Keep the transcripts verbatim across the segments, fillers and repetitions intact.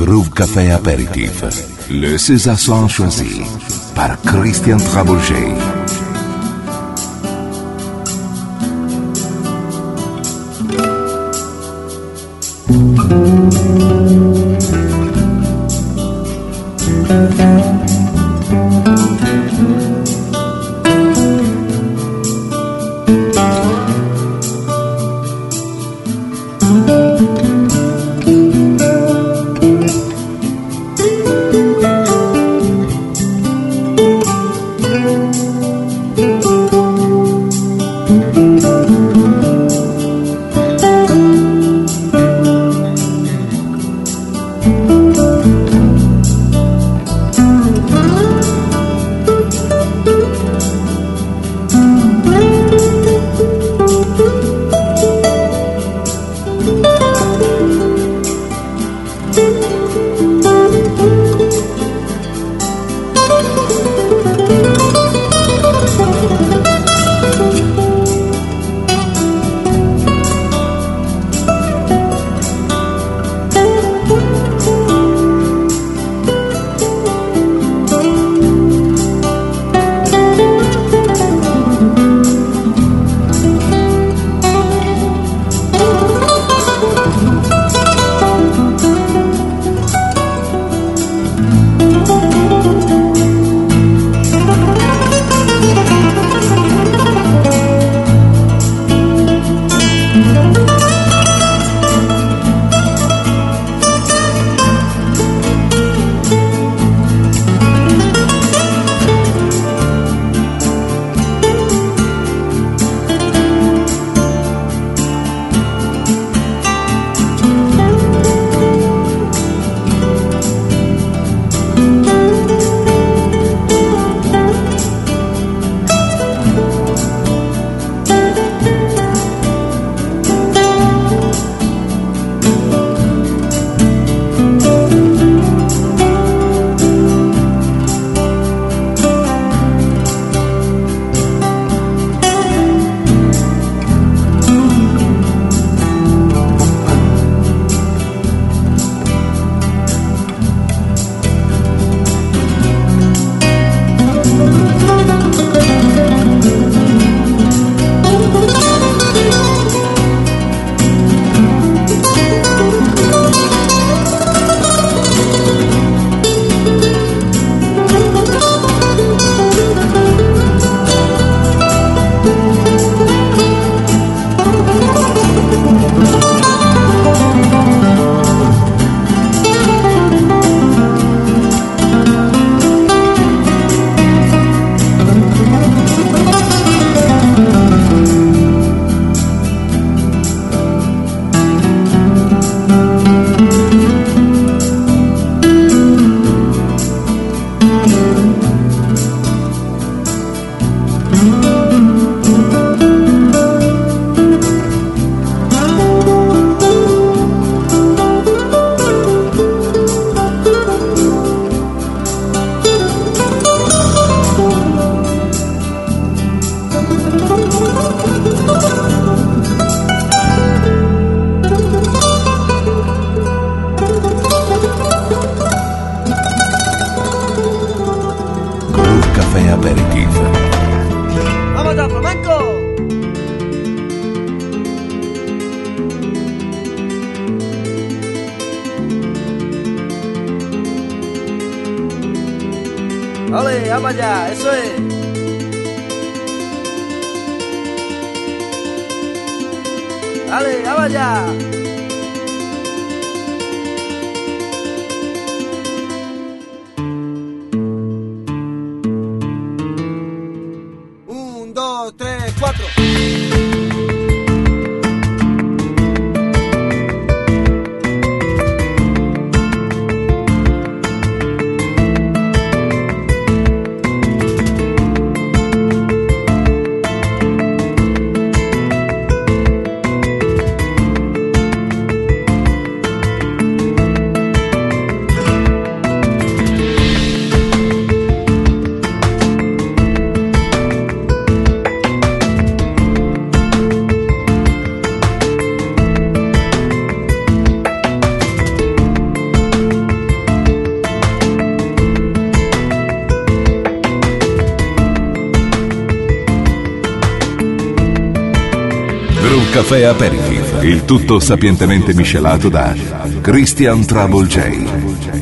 Groove Café Apéritif. Le César choisi par Christian Trabouget. Ole, vamos allá, eso es. Dale, vamos allá. Un, dos, tres, cuatro. Caffè Aperitif, il tutto sapientemente miscelato da Christian Trouble J.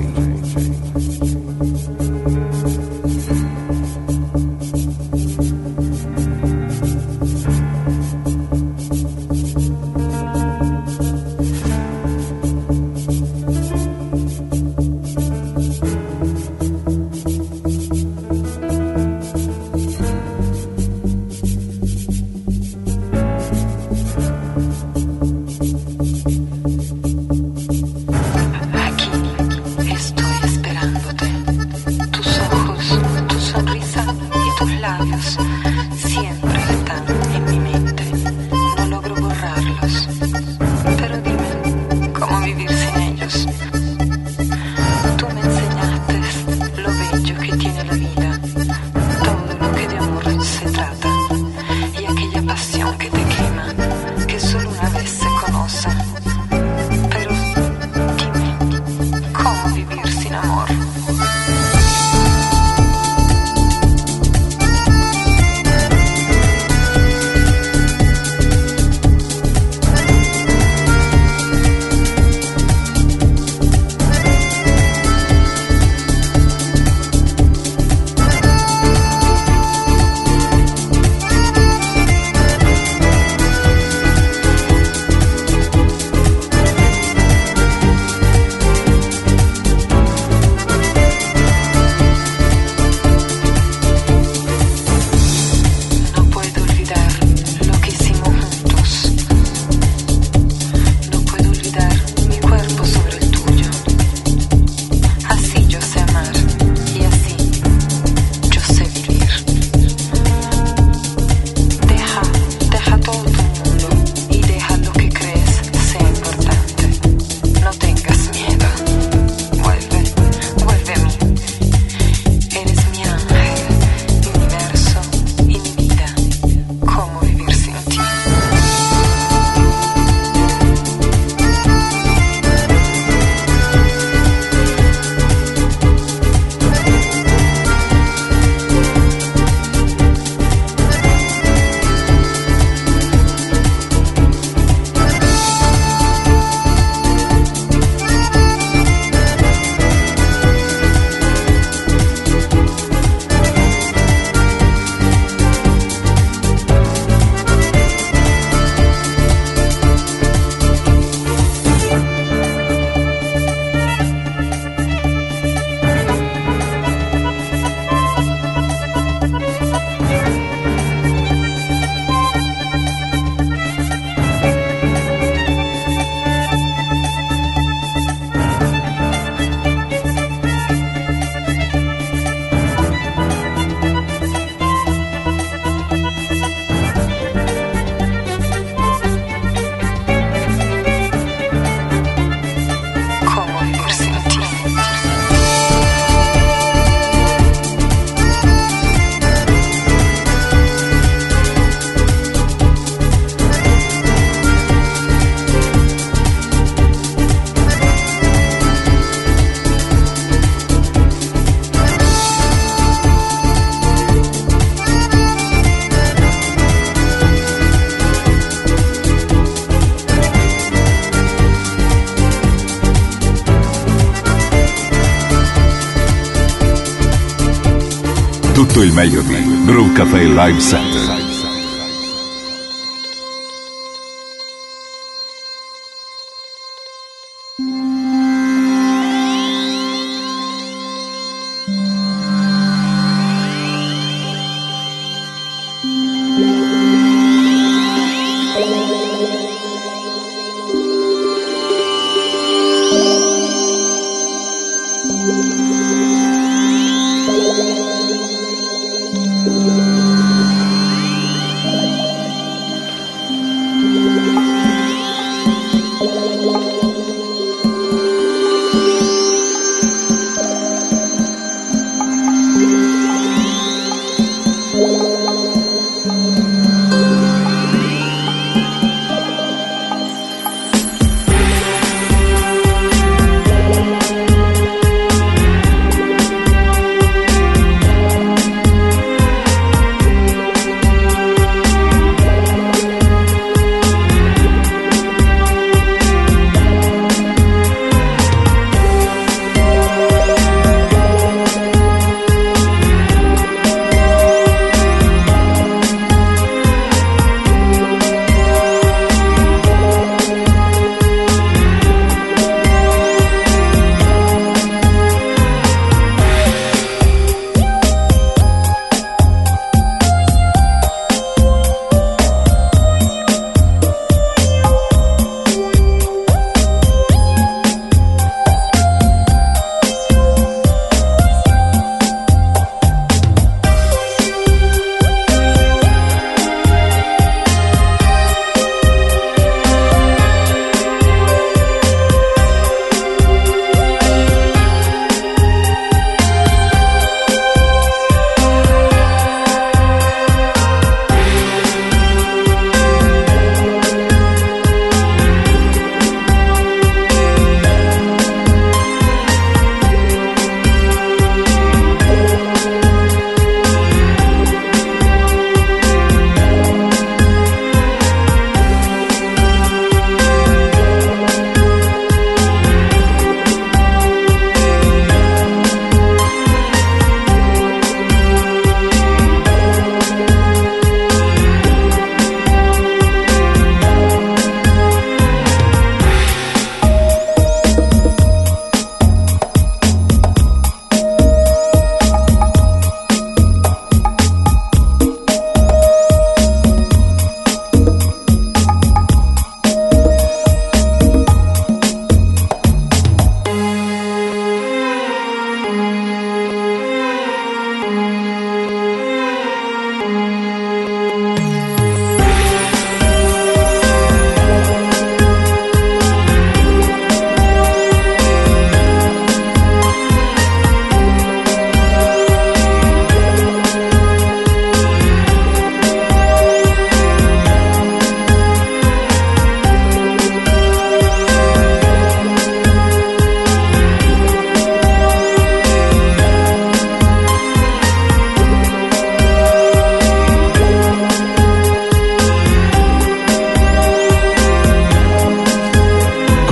Tutto il meglio di Brew Cafe Live Set.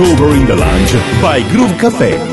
Groover in the Lounge by Groove Café.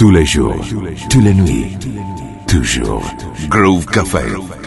tous les jours, toutes les nuits, toujours. Groove Café.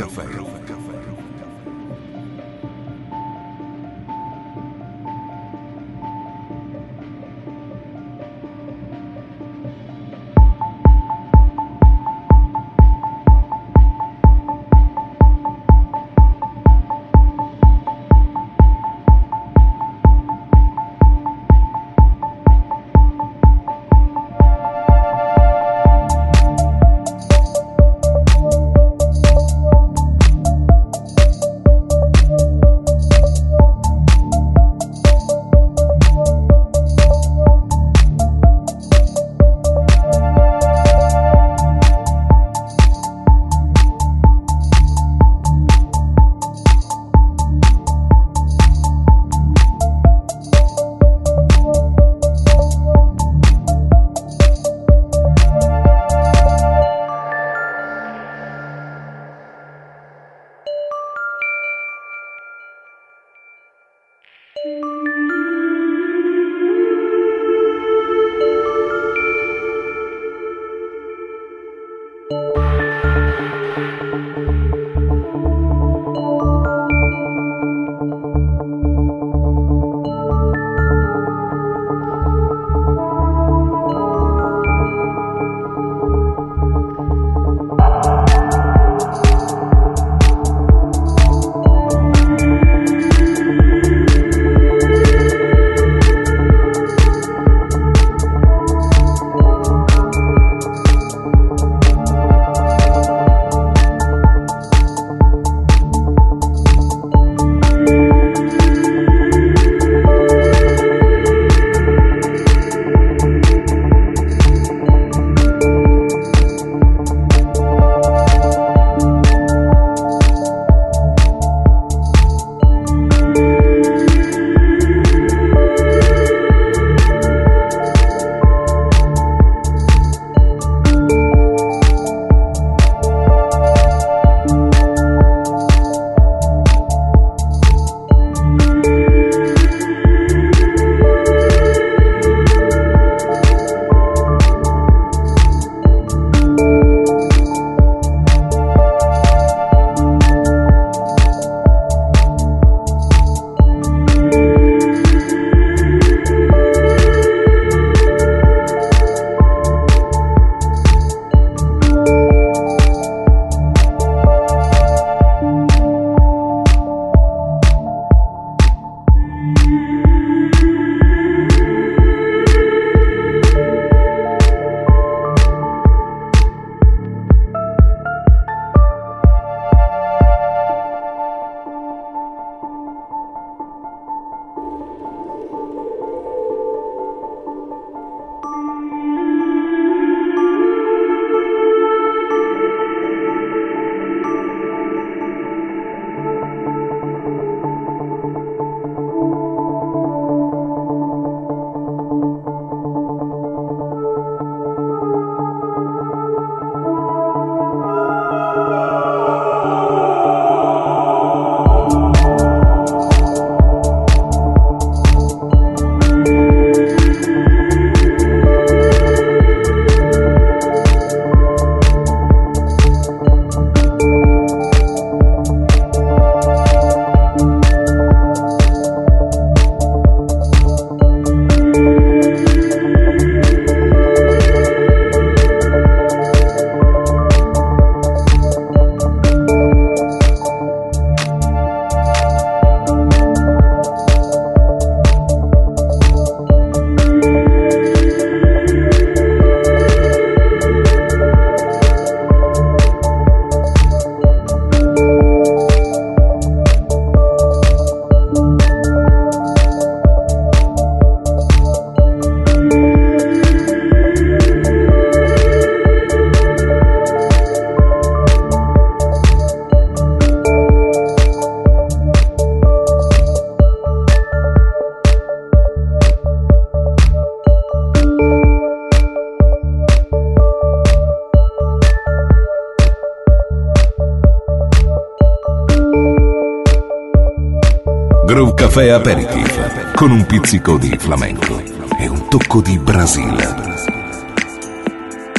Groove Café Aperitif con un pizzico di flamenco e un tocco di Brasile.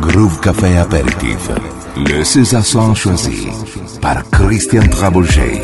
Groove Café Apéritif. Le César Son choisi par Christian Travolgei.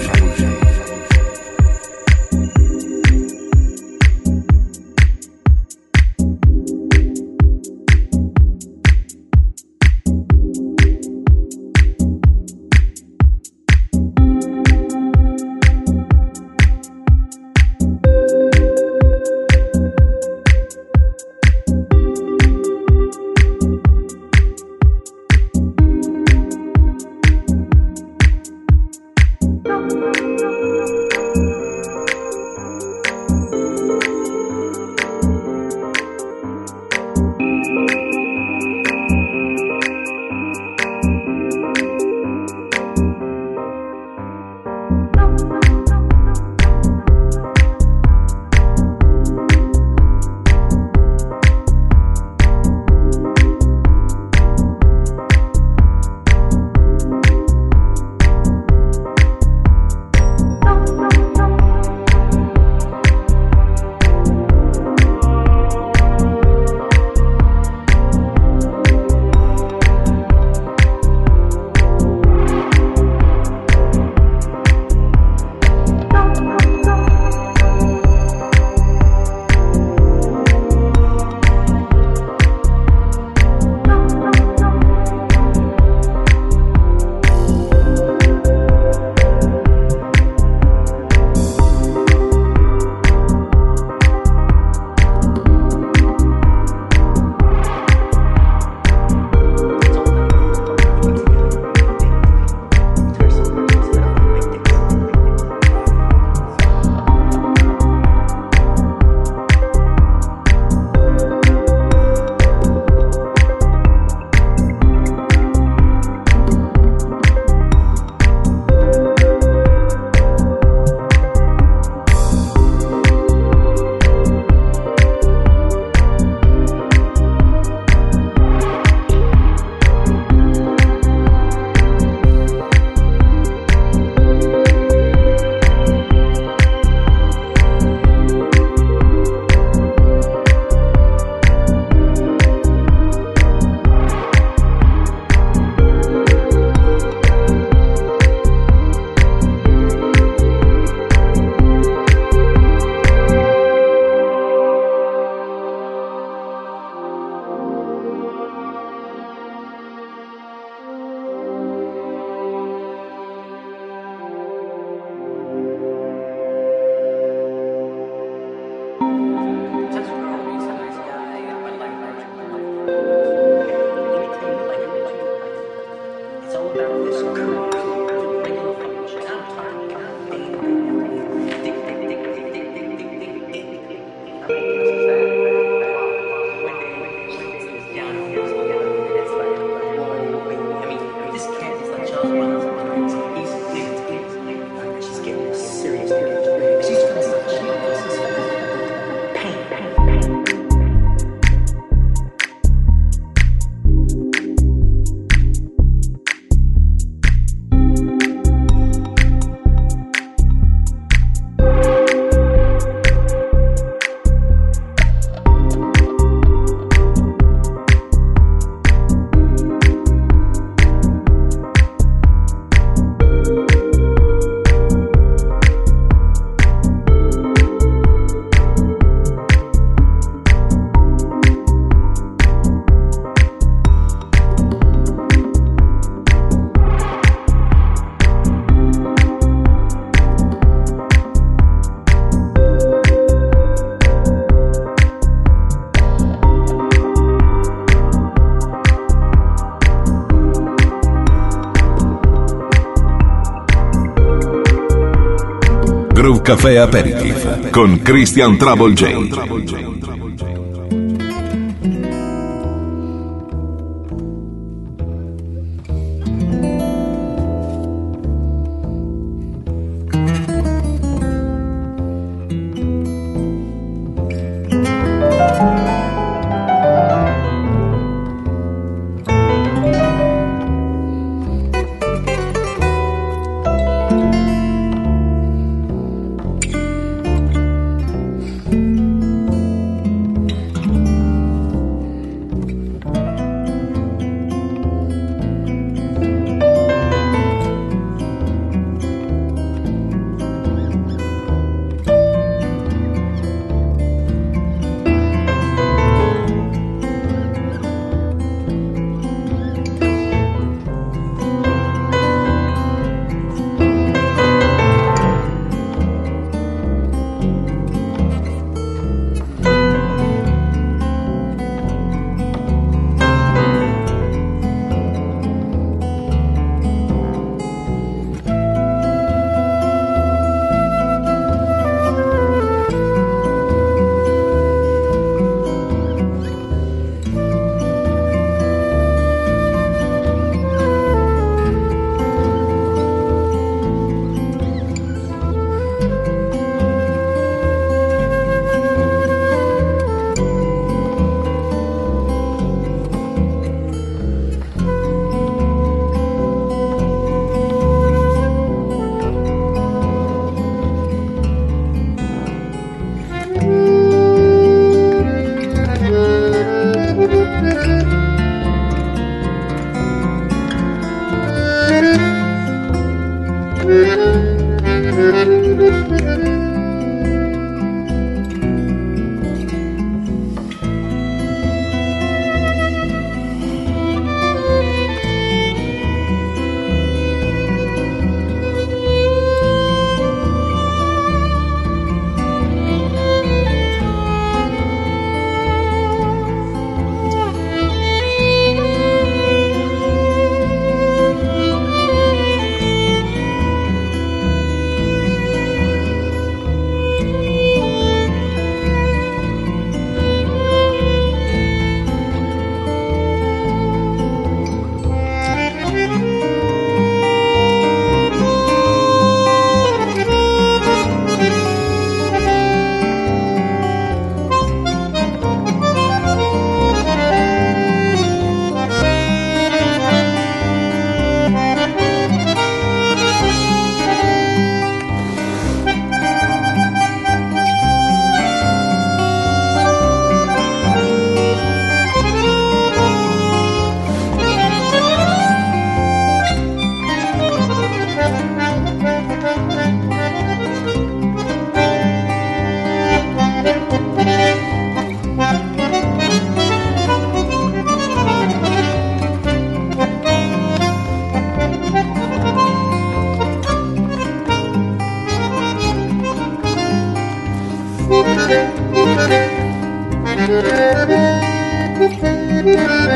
Groove Café Aperitif con Christian Travolgei.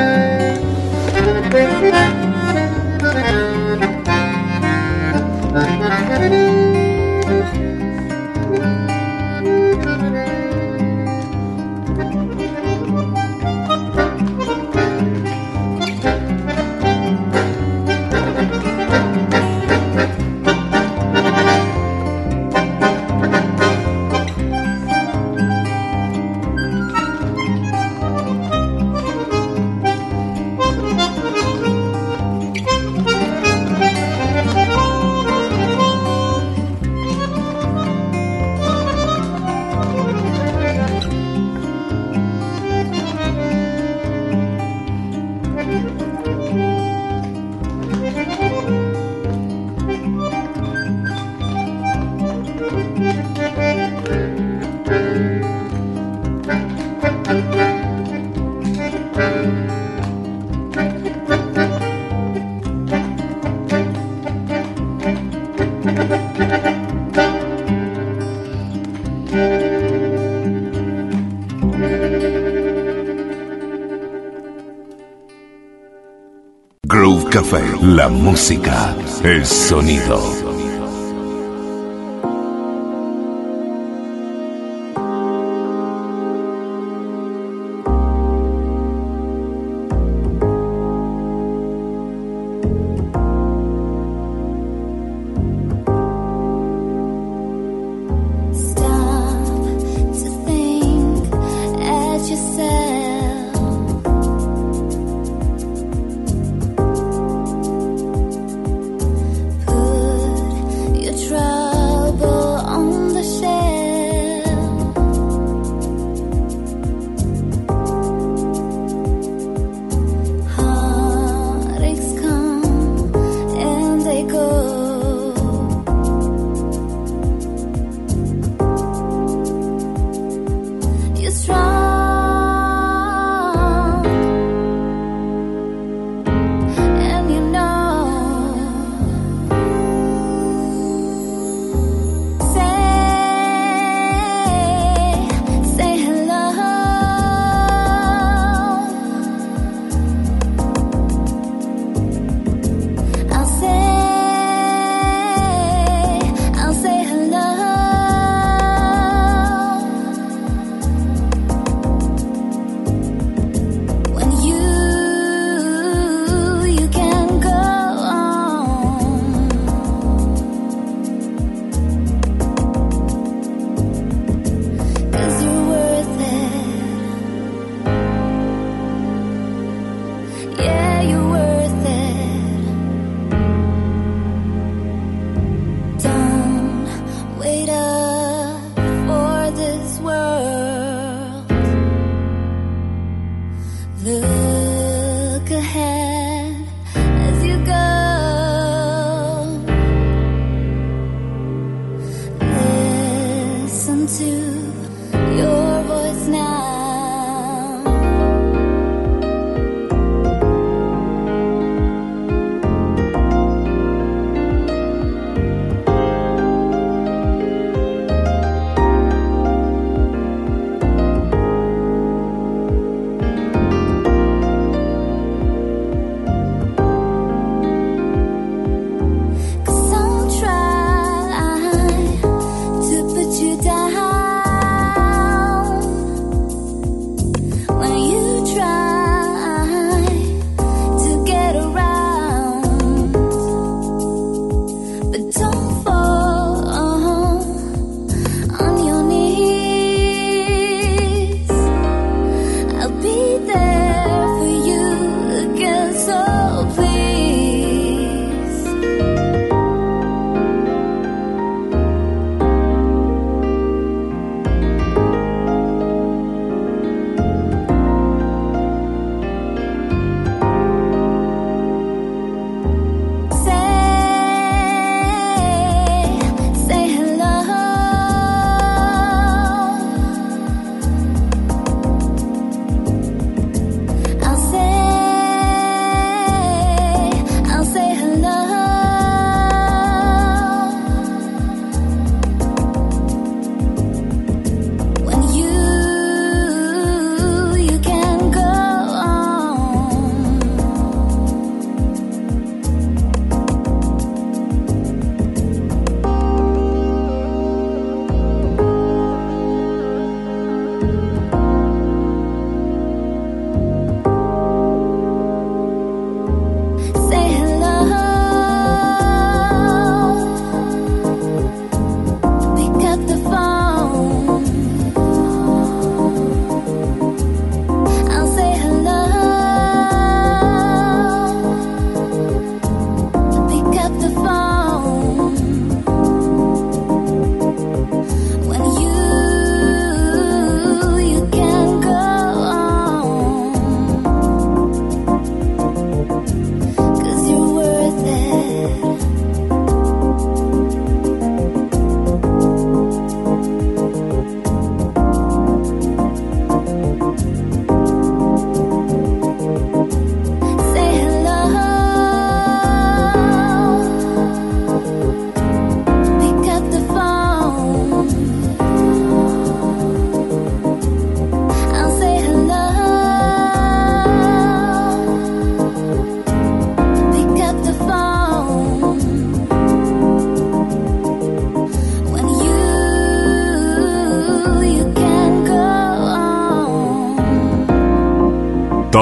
Groove Café, la música, el sonido.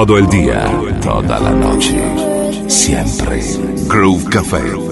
todo el día, toda la noche, siempre. Groove Café.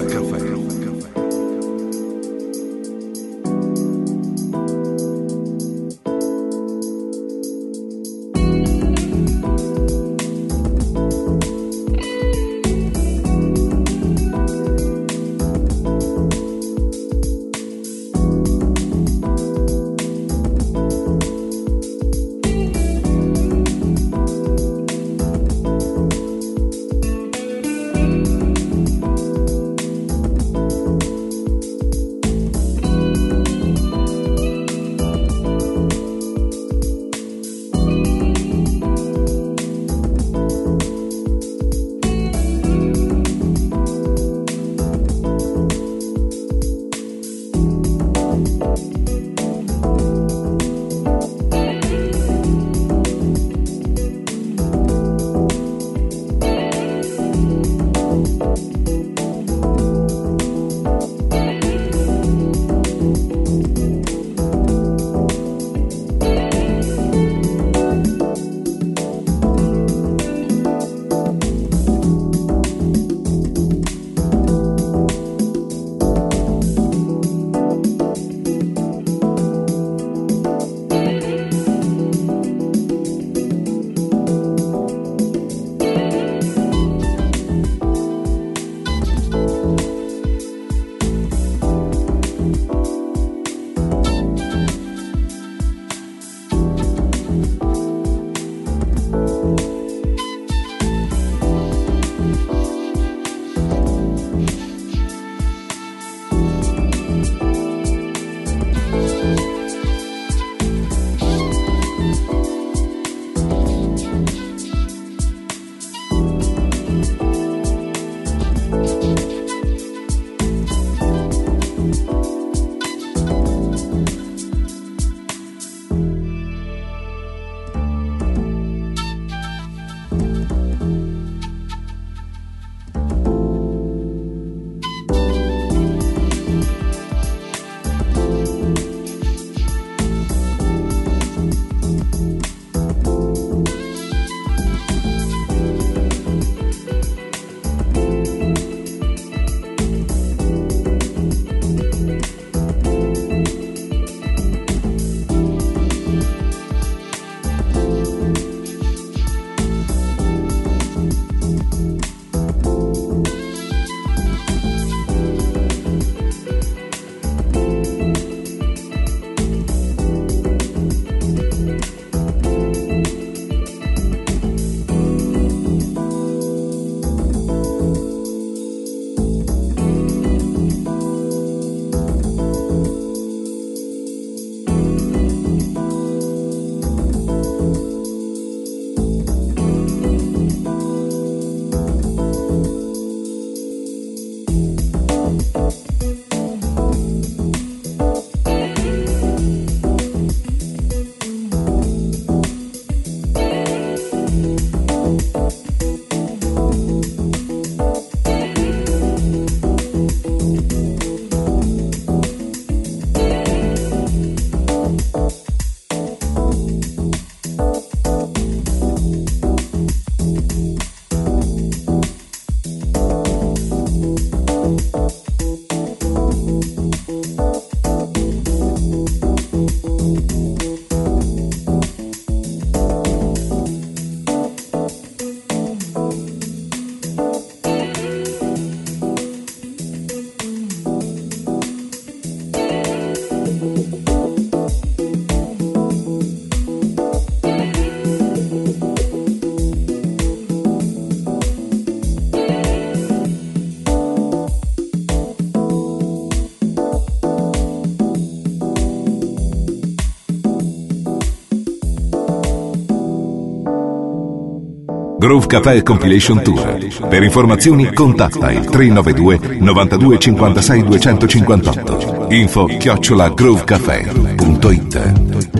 Groove Café Compilation Tour. Per informazioni contatta il tre nove due novantadue cinquantasei duecentocinquantotto. Info chiocciola groovecafé punto it.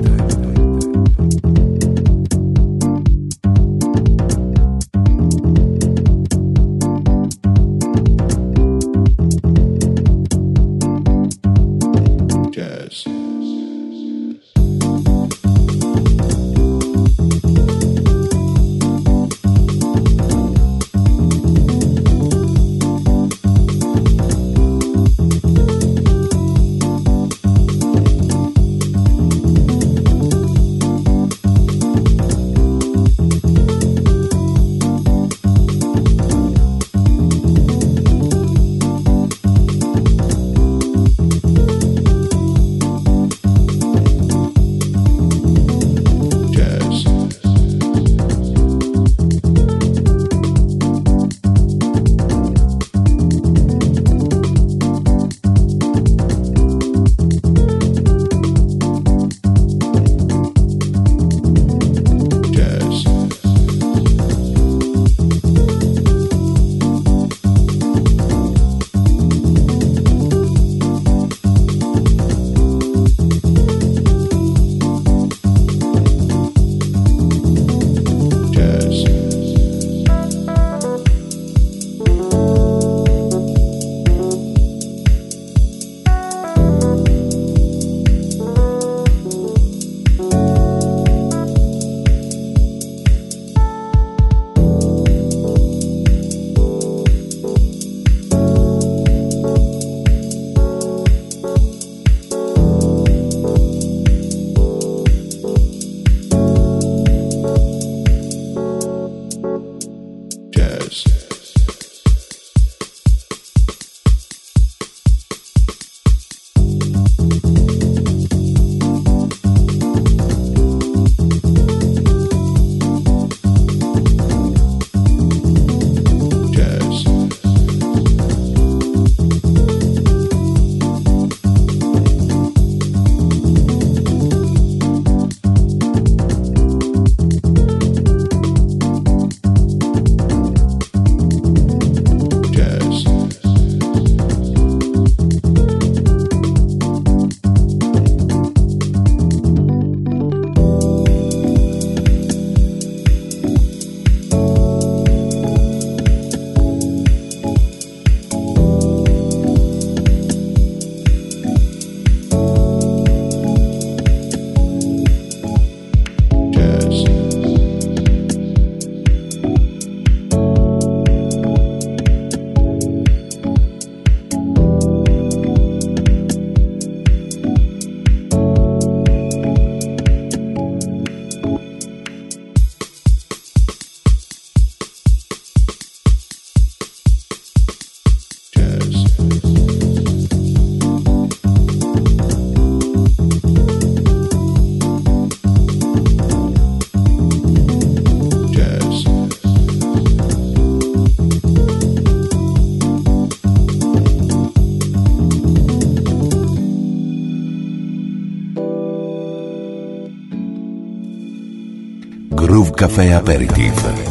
Groove Café Aperitif.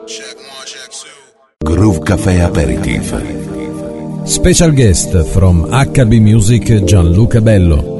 Groove Café Aperitif. Special guest from H B Music Gianluca Bello.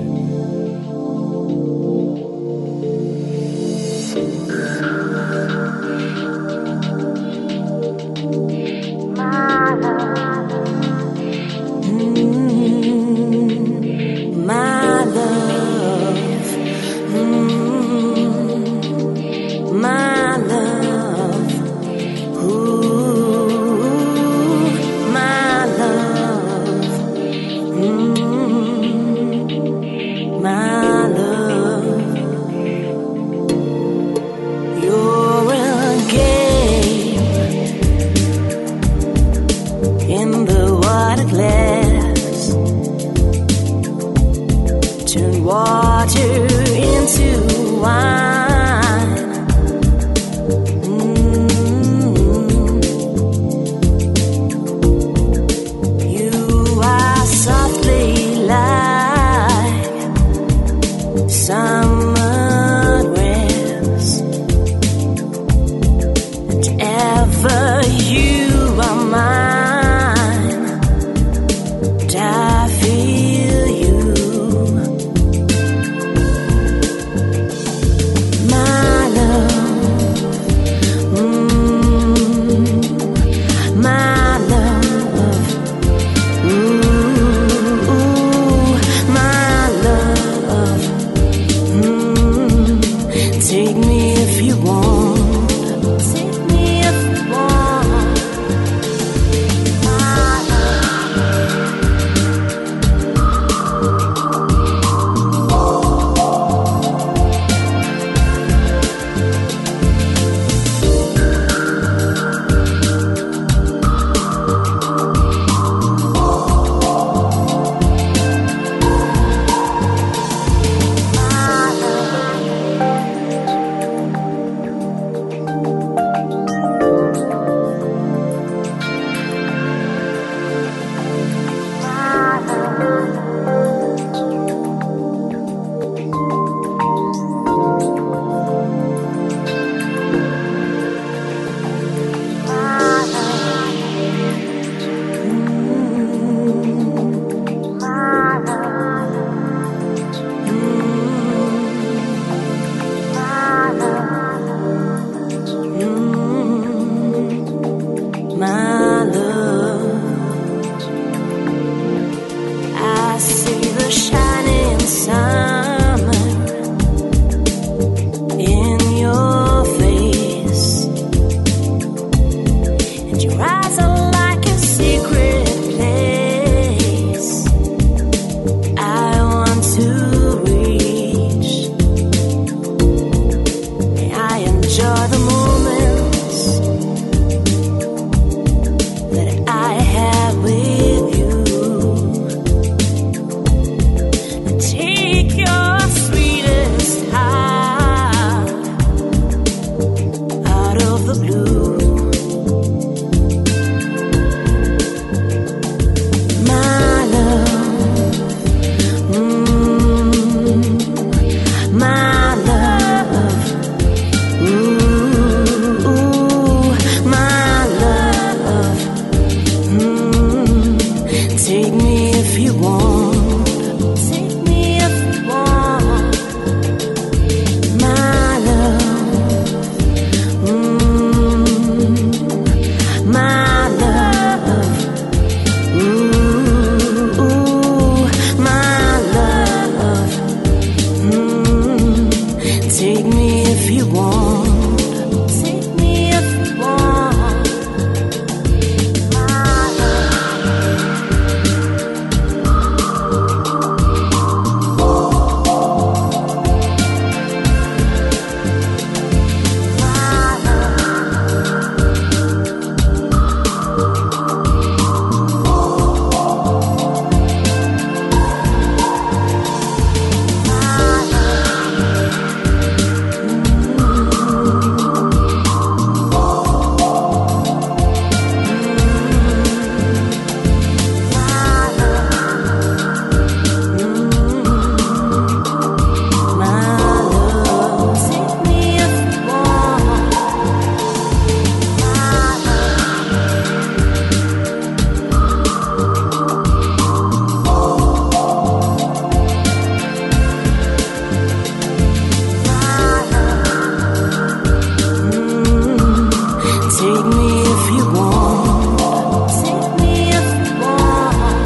Take me if you want. Take me if you want.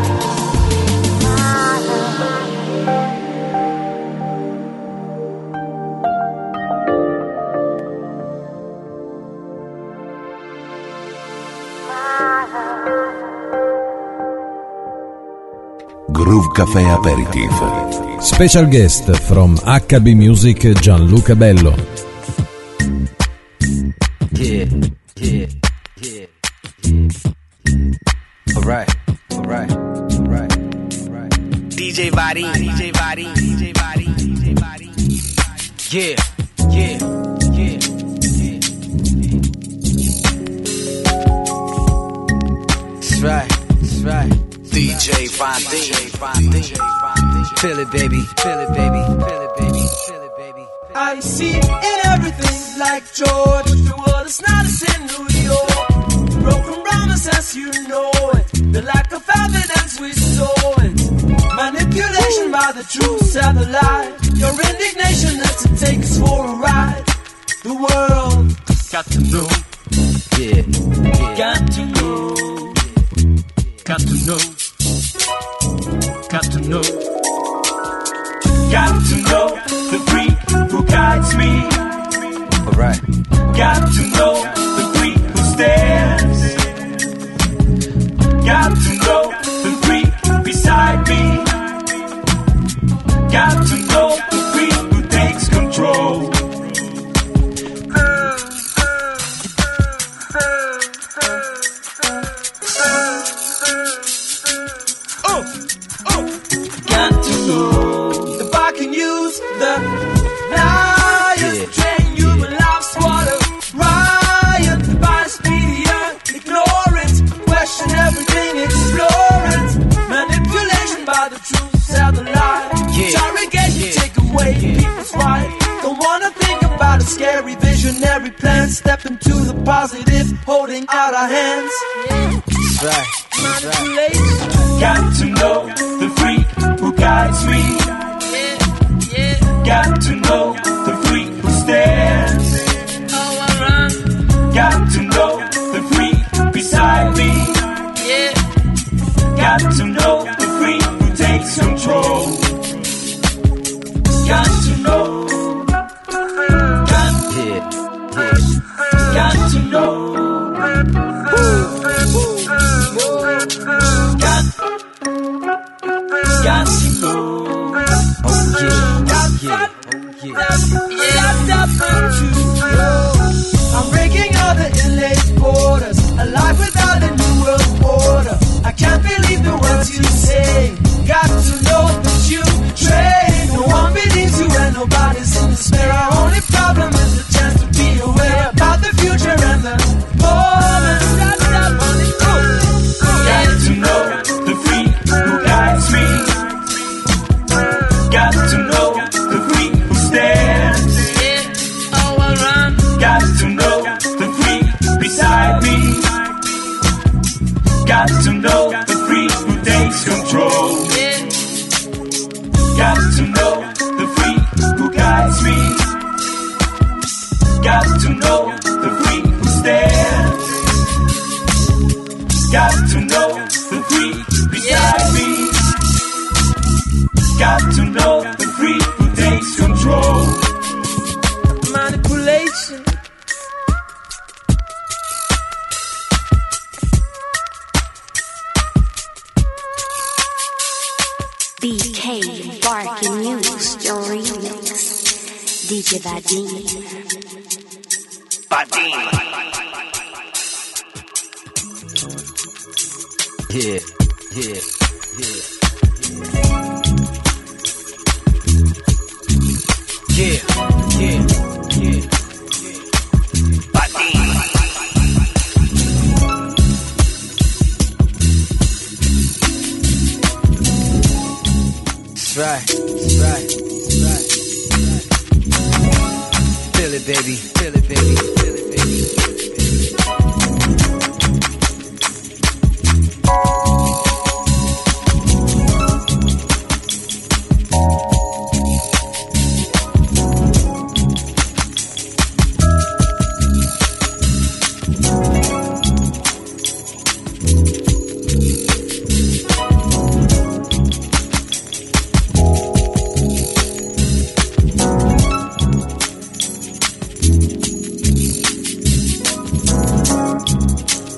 My love. Groove Café Aperitif. Special guest from H B Music Gianluca Bello. Yeah, yeah, yeah, yeah. Alright, alright, alright, alright. D J Body, D J Body, D J Body, D J Body. Yeah, yeah, yeah, yeah. That's right, that's right. D J Body, feel it, baby, feel it, baby, feel it, baby, feel it, baby. I see in everything like George. The world is not as in New York. Broken promises, you know it. The lack of evidence, we saw it. Manipulation by the truth and the lie. Your indignation lets it take us for a ride. The world got to know. Yeah, yeah. Got to know. Got to know. Got to know. Got to know the freak who guides me. Alright. Got to know the freak who stands. Got to know the freak beside me. Got to know the freak who takes control. Oh, oh. Got to know if I can use the highest train, human life's water riot, bias media, ignore it, question everything, explore it, manipulation by the truth and the lie, interrogation, yeah. Take away yeah. people's right, don't wanna think about a scary visionary plan, step into the positive, holding out our hands. That's right. That's right. Got to know the freak who guides me. Yeah, yeah. Got to know the freak who stands. Oh, I run. Got to know the freak beside me. Yeah. Got to know the freak who takes control. Got to know. Got, Yeah, yeah. got to know. Got, got to know. Oh yeah, Got, yeah, got, oh yeah. got, got to know. I'm breaking all the inlaid borders. A life without a new world order. I can't believe the words you say. Got to know that you trade. No one believes you and nobody's in despair. Our only problem is the chance to be aware about the future and the moment. Got to know the freak who guides me. Got to know the freak who stands. Yeah. Oh, I run. Got to know the freak beside me. Got to know the freak who takes control. Yeah. Got to know the freak who guides me. Got to know the freak who stands. Got to know the freak beside me. Got to know the freak who takes control. Manipulation. B K Barking News, your remix. D J Vadim. Yeah, yeah, yeah. Yeah, yeah, yeah. That's right, that's right, that's right, that's right. Feel it, baby, feel it, baby, feel it, baby.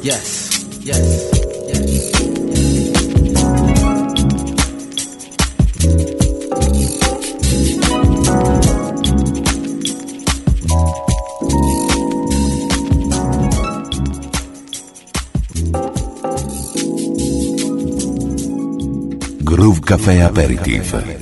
Yes, yes, yes. Groove Café Aperitif.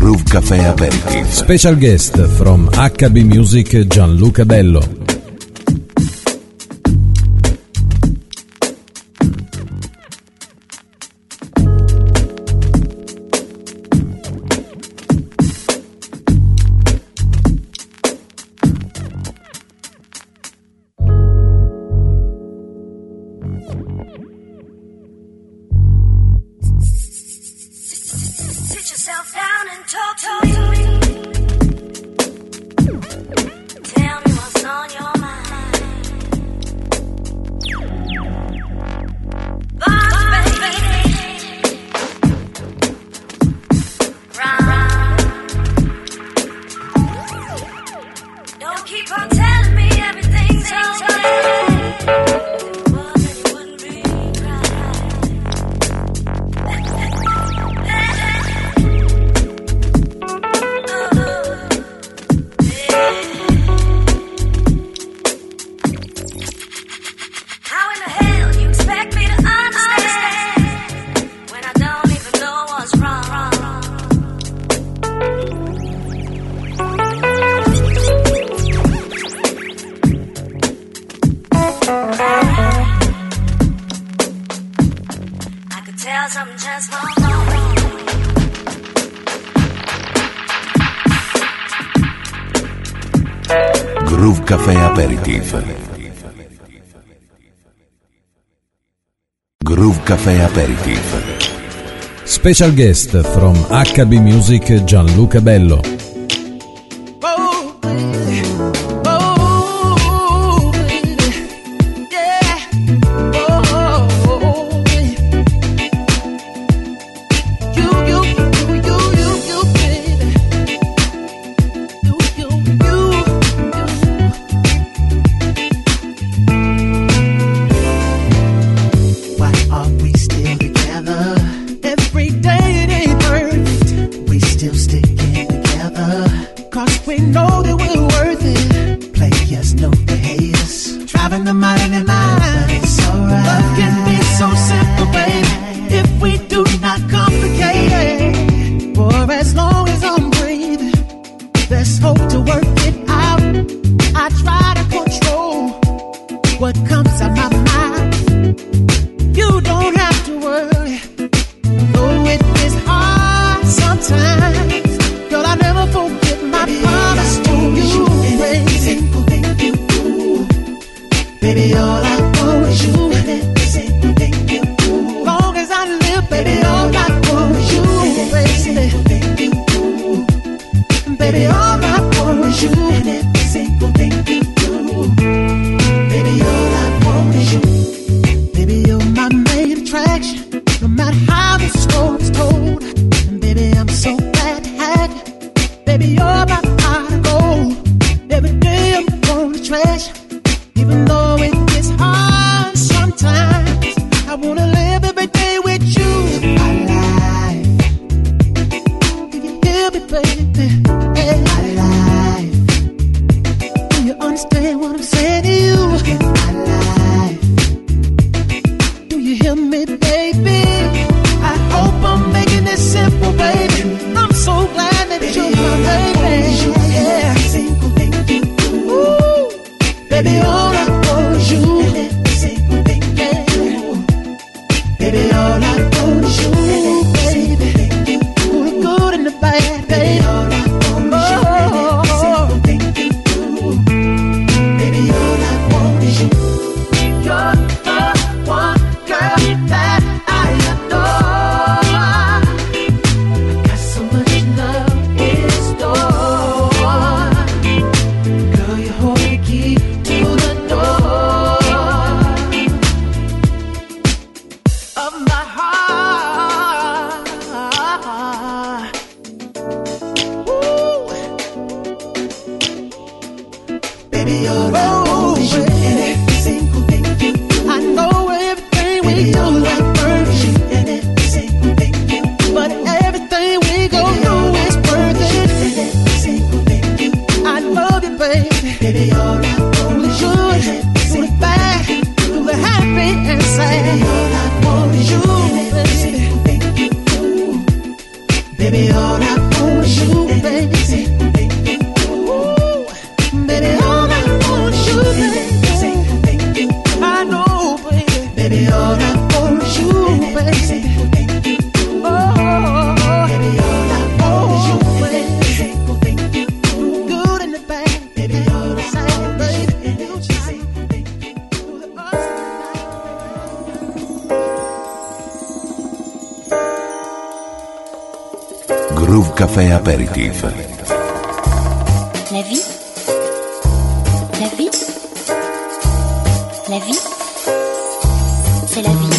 Groove Café Aperitif. Special guest from H B Music Gianluca Bello. Groove Café Aperitif. Groove Café Aperitif. Special guest from H B Music Gianluca Bello. Baby, all I Groove Café Aperitif. La vie, la vie, la vie, c'est la vie.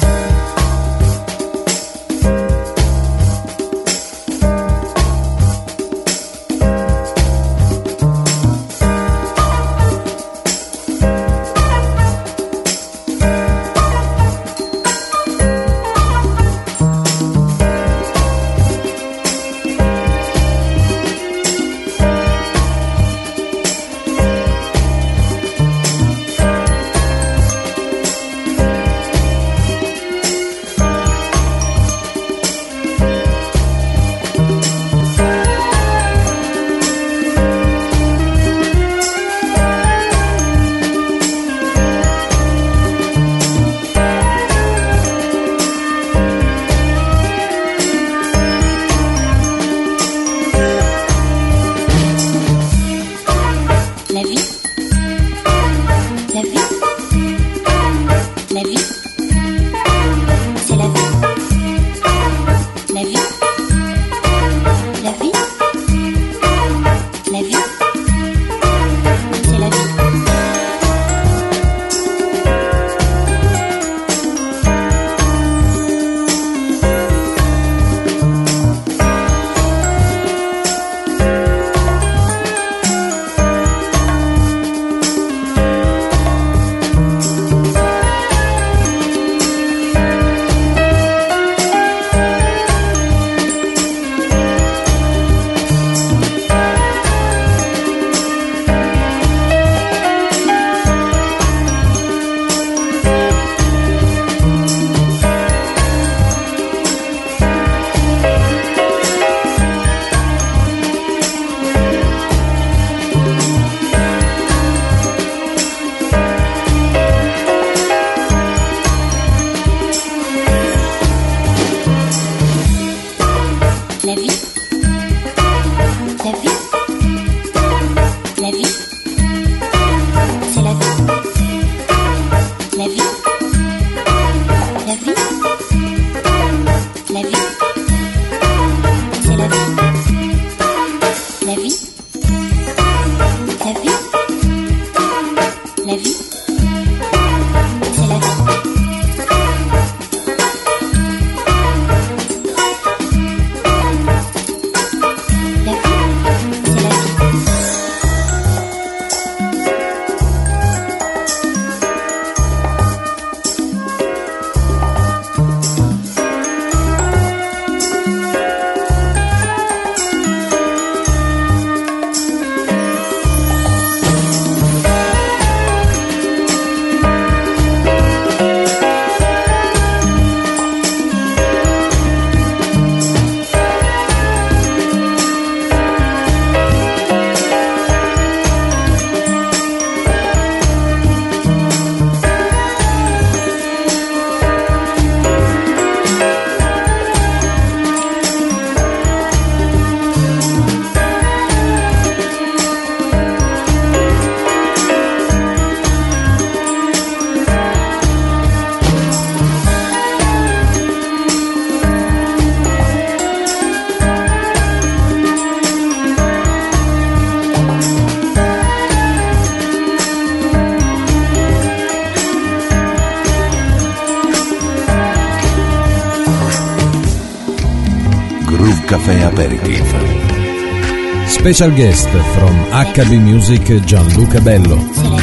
Café Aperitif. Special guest from H B Music Gianluca Bello.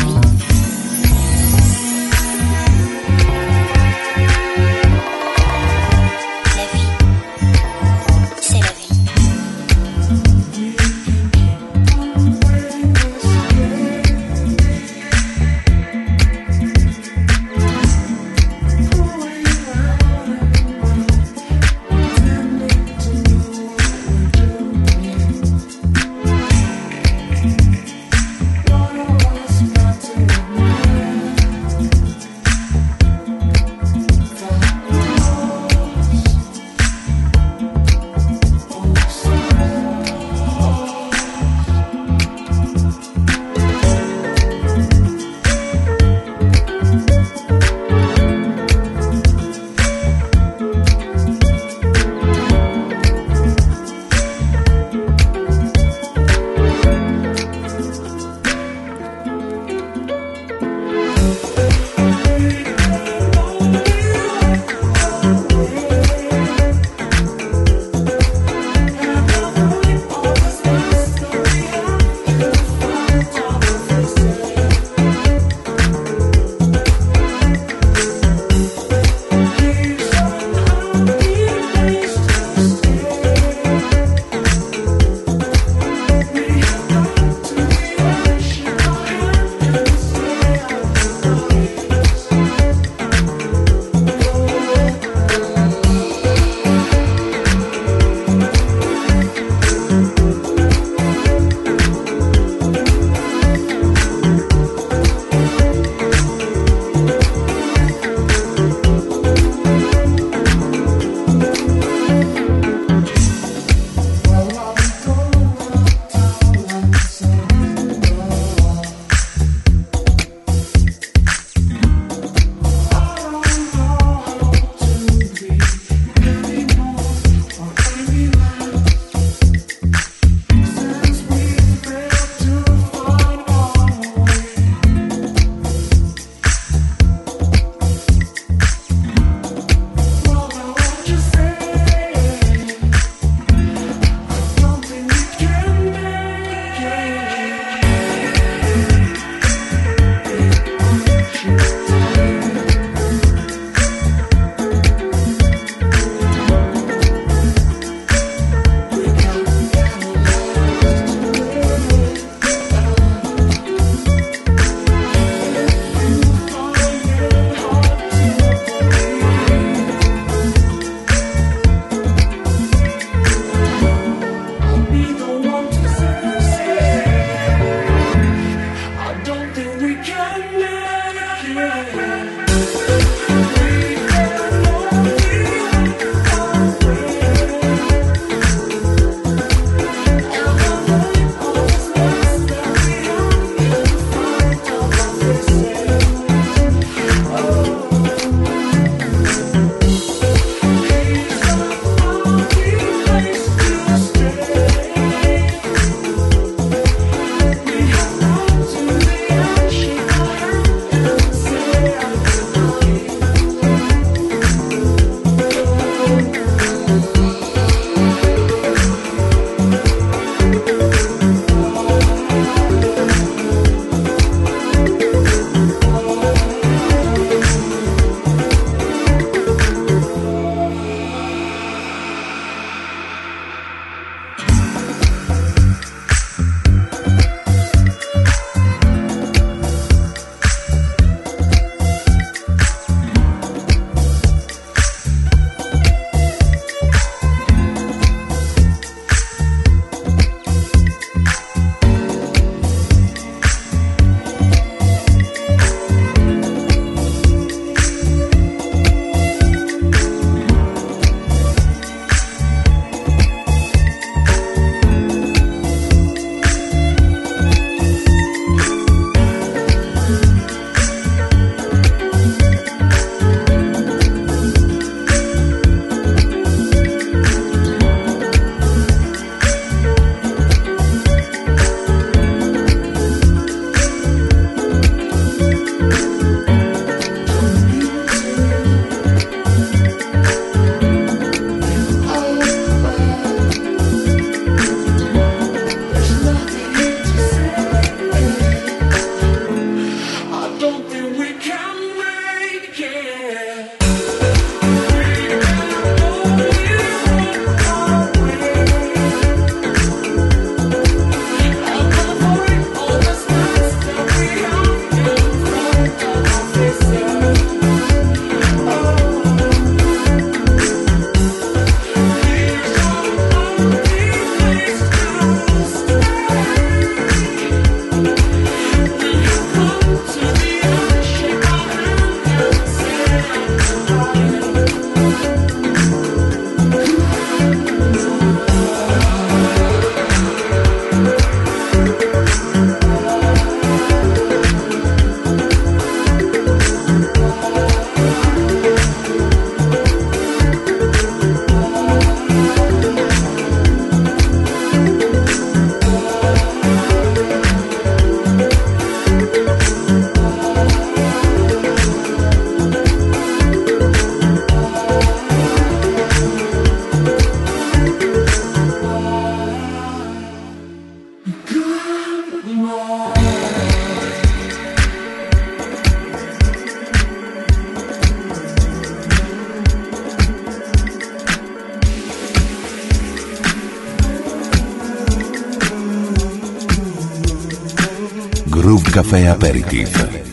Groove Café Aperitif.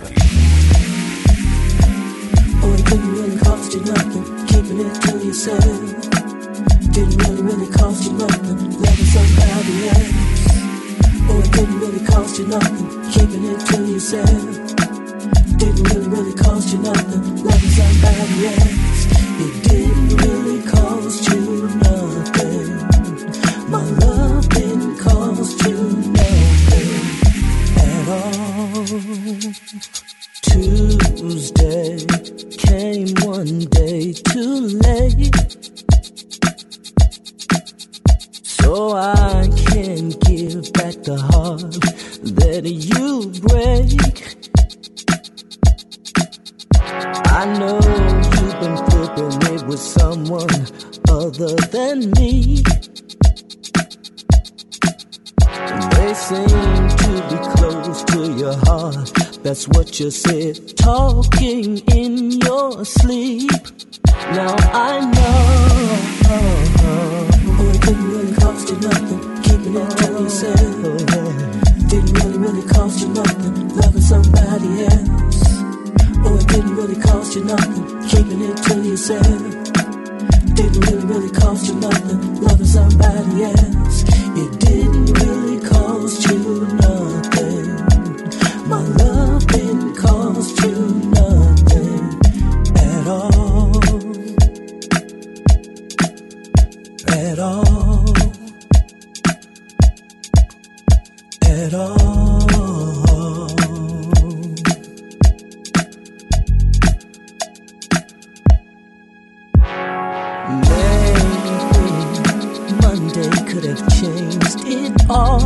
Oh, it didn't really cost you nothing, keeping it to yourself. Didn't really, really cost you nothing, loving somebody else. Oh, it didn't really cost you nothing, keeping it to yourself. Didn't really, really cost you nothing, loving somebody else. It didn't really cost you nothing. My love didn't cost you nothing at all. Tuesday came one day too late, so I can give back the heart that you break. I know you've been flipping it with someone other than me. They seem to be close to your heart. That's what you said, talking in your sleep. Now I know. Oh, it didn't really cost you nothing, keeping it to yourself. Oh, yeah. Didn't really, really cost you nothing, loving somebody else. Oh, it didn't really cost you nothing, keeping it to yourself. Didn't really, really cost you nothing, loving somebody else. It didn't really cost you nothing. My love didn't cost you nothing at all. At all. At all. Could have changed it all.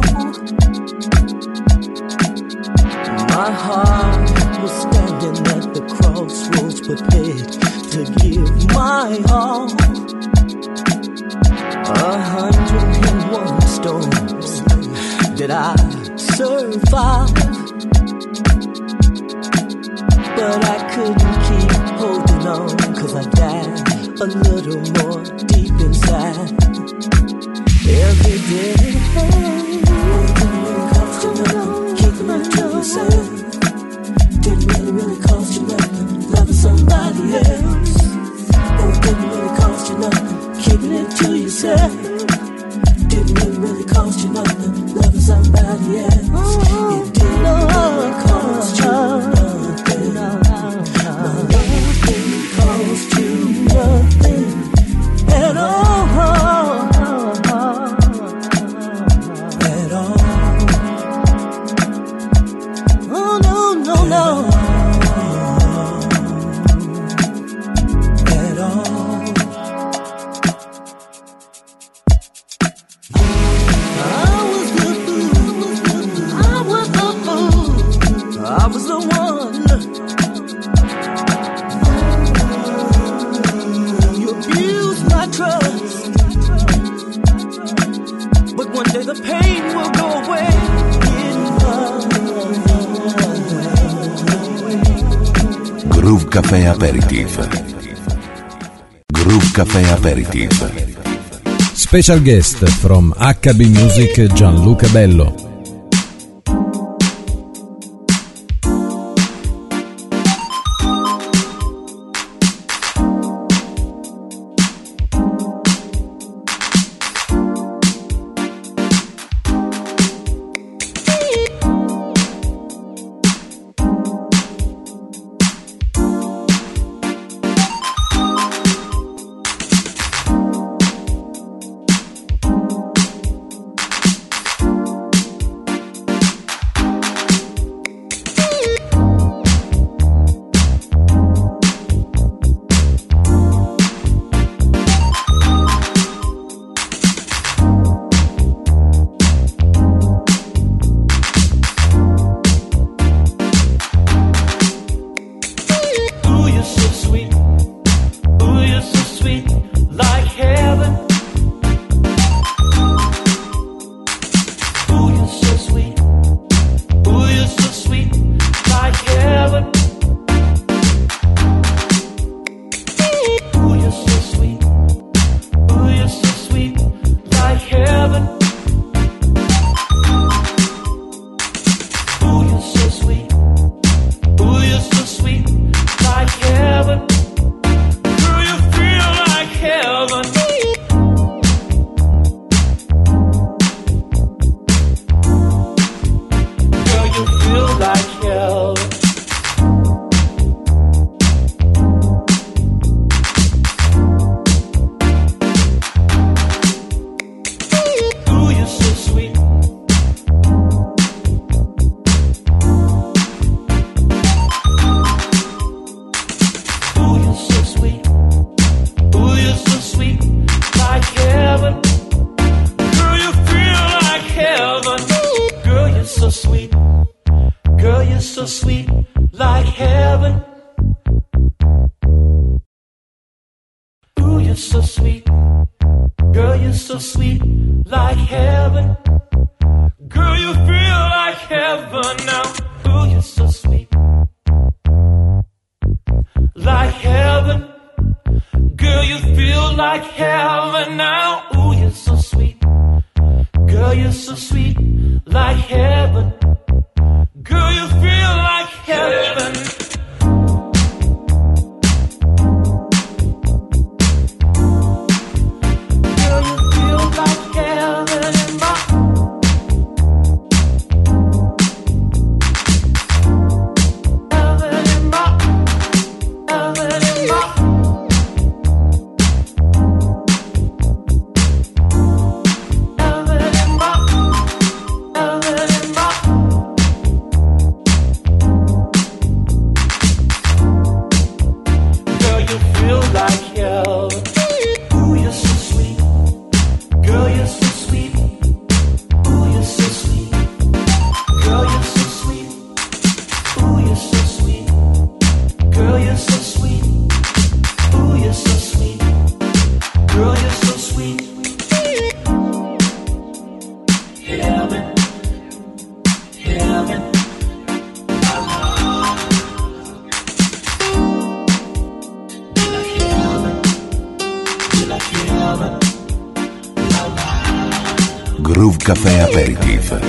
My heart was standing at the crossroads, prepared to give my all. A hundred and one storms did I survive, but I couldn't keep holding on, 'cause I died a little more deep inside. Every day, oh, it didn't really cost you nothing, keeping it to yourself. Didn't really, really cost you nothing, loving somebody else. Oh, it didn't really cost you nothing, keeping it to yourself. Didn't really, really cost you nothing, loving somebody else. It didn't really cost you nothing. My love didn't cost you nothing at all. Groove Café Aperitif. Groove Café Aperitif. Special guest from H B Music Gianluca Bello. Ooh, you're so so sweet. Girl, you're so sweet, like heaven. Ooh, you're so sweet. Girl, you're so sweet, like heaven. Girl, you feel like heaven now. Ooh, you're so sweet, like heaven. Girl, you feel like heaven now. Ooh, you're so sweet. Girl, you're so sweet, like heaven. Girl, you feel like heaven. Girl, you feel like heaven in my heaven in my heaven in my Groove Café Aperitif.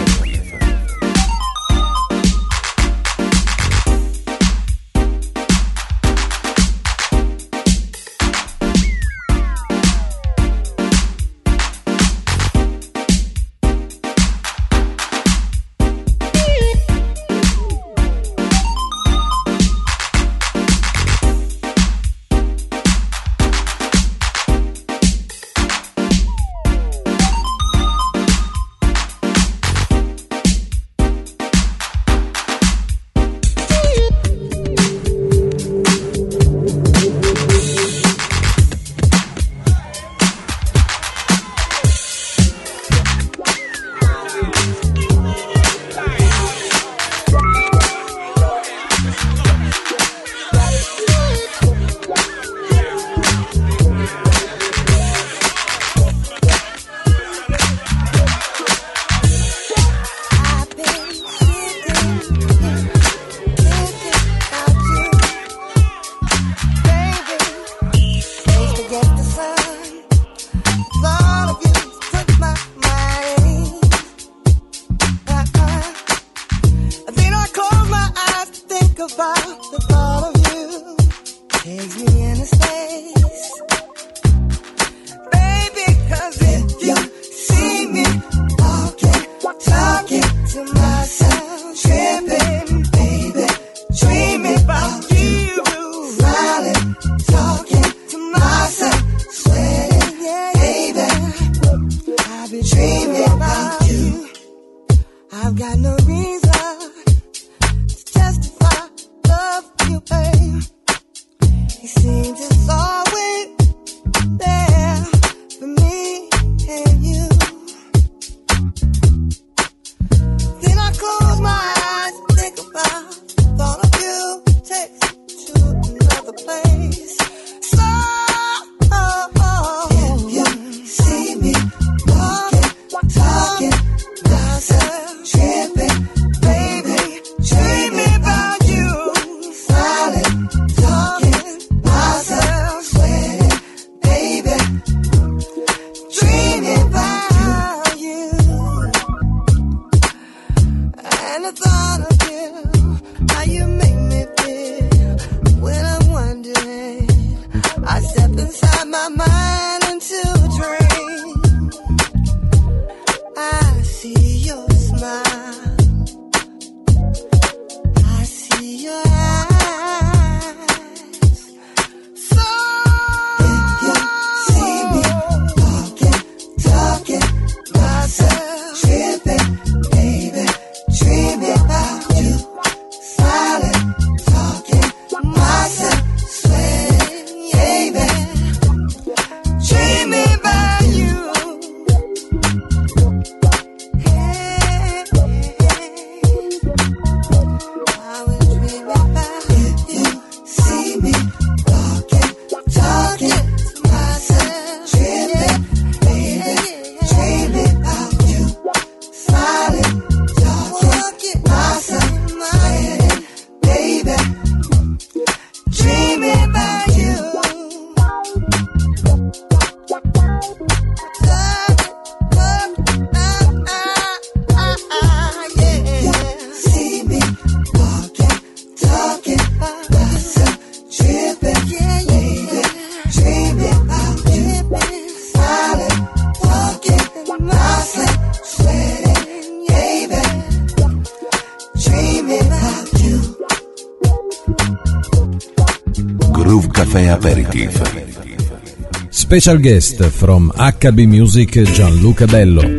Caffè Aperitif. Special guest from H B Music Gianluca Bello.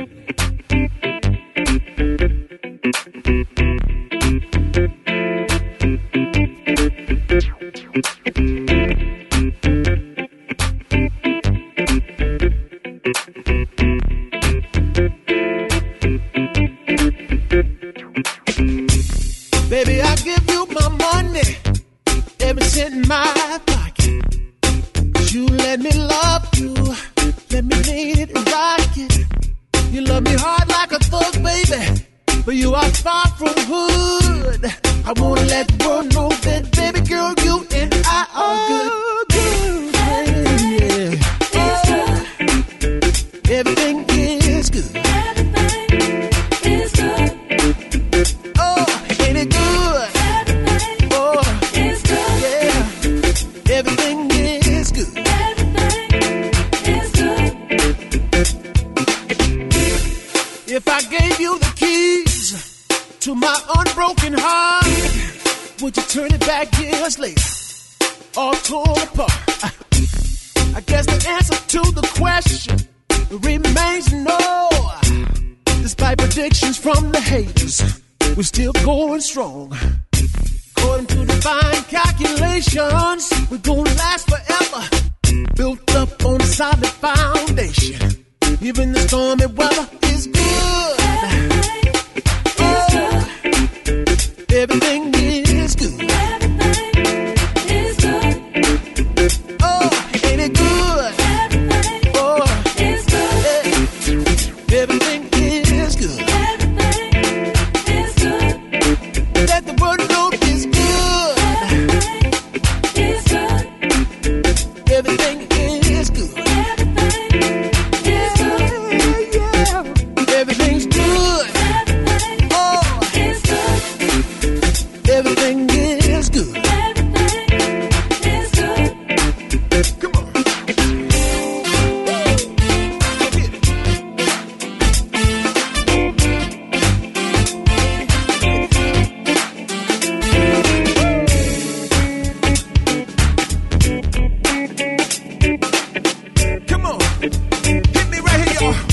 Baby, I give you my money, every cent in my pocket. You let me love you, let me lean it and rock it. You love me hard like a thug, baby, but you are far from hood. I wanna let the world know that, baby girl, you and I are good. Yeah. Everything is good. Oh, ain't it good? Oh, yeah. Everything is good. If I gave you the keys to my unbroken heart, would you turn it back years later, all torn apart? I guess the answer to the question remains no. Despite predictions from the haters, we're still going strong. According to divine calculations, we're gonna last forever, built up on a solid foundation. Even the stormy weather is good. Oh, everything is good. Oh, ain't it good? Oh, yeah. Everything is good. Let the world know it's good. Everything is good. Everything's good. Oh, everything is good. Come on. Come on. Hit me right here, y'all.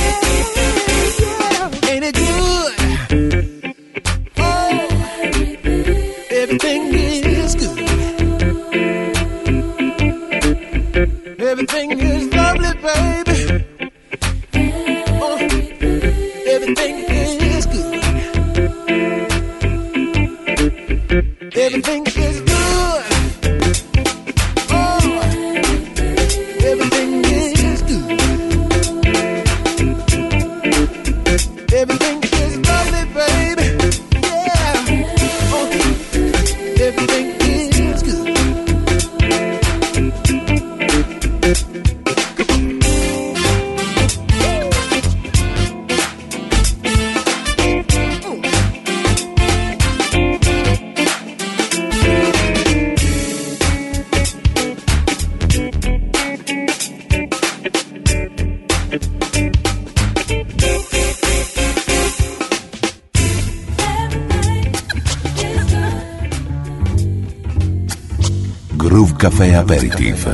Ain't it good? Oh, everything is good. Everything is lovely, baby. Oh, everything is good. Everything is good. Oh, everything is good. Everything is lovely, baby. Yeah. Oh, everything is good. Groove Caffè Aperitif.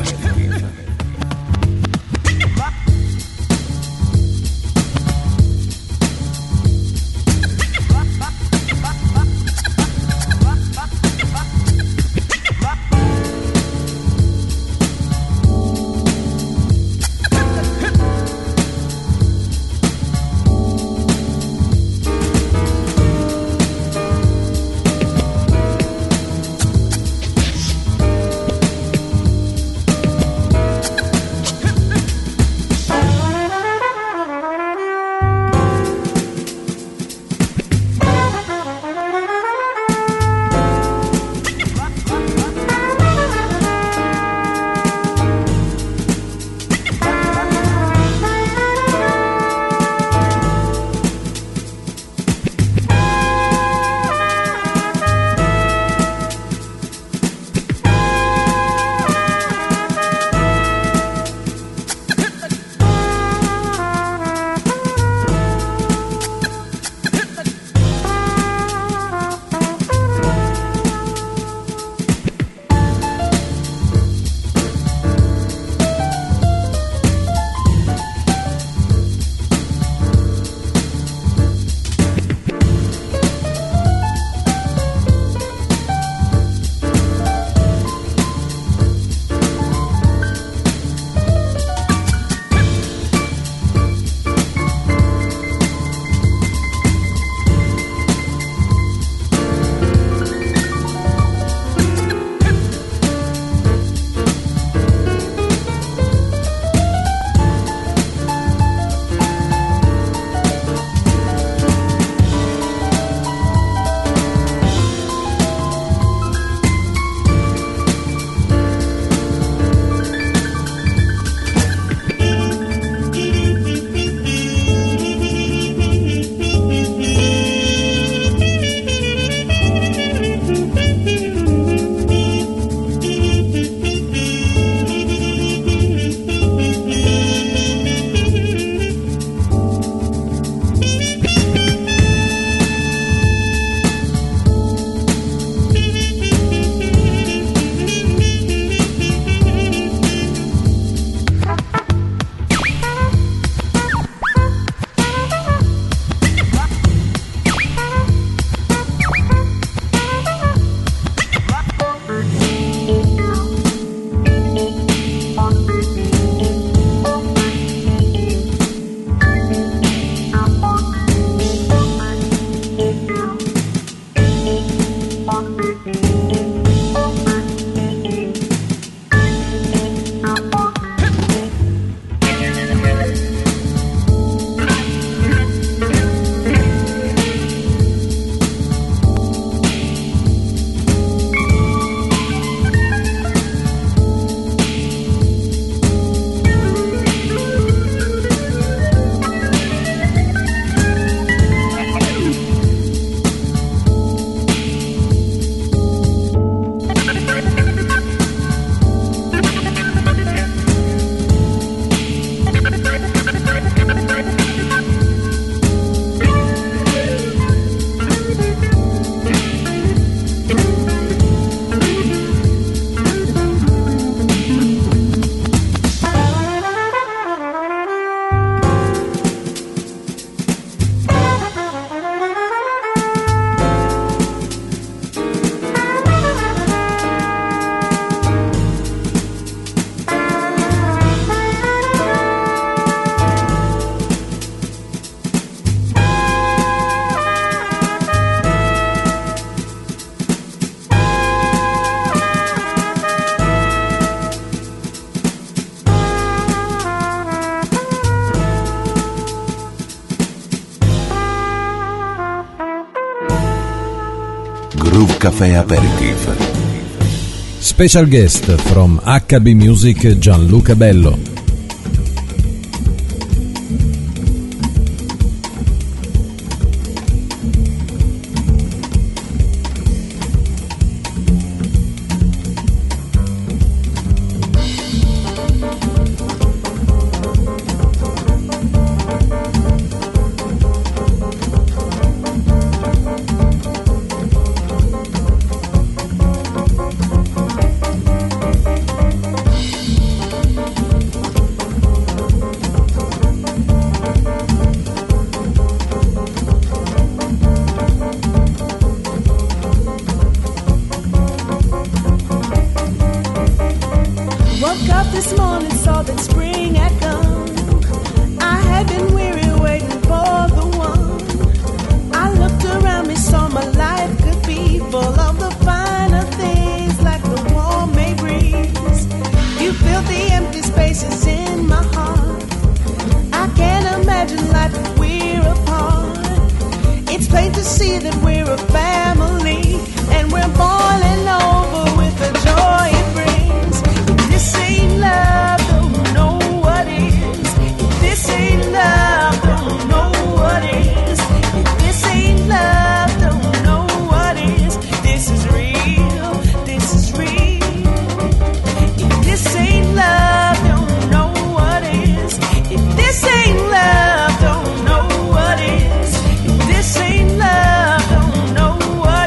Groove Café Aperitif. Special guest from H B Music Gianluca Bello.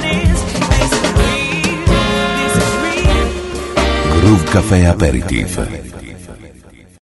Groove Café Aperitif.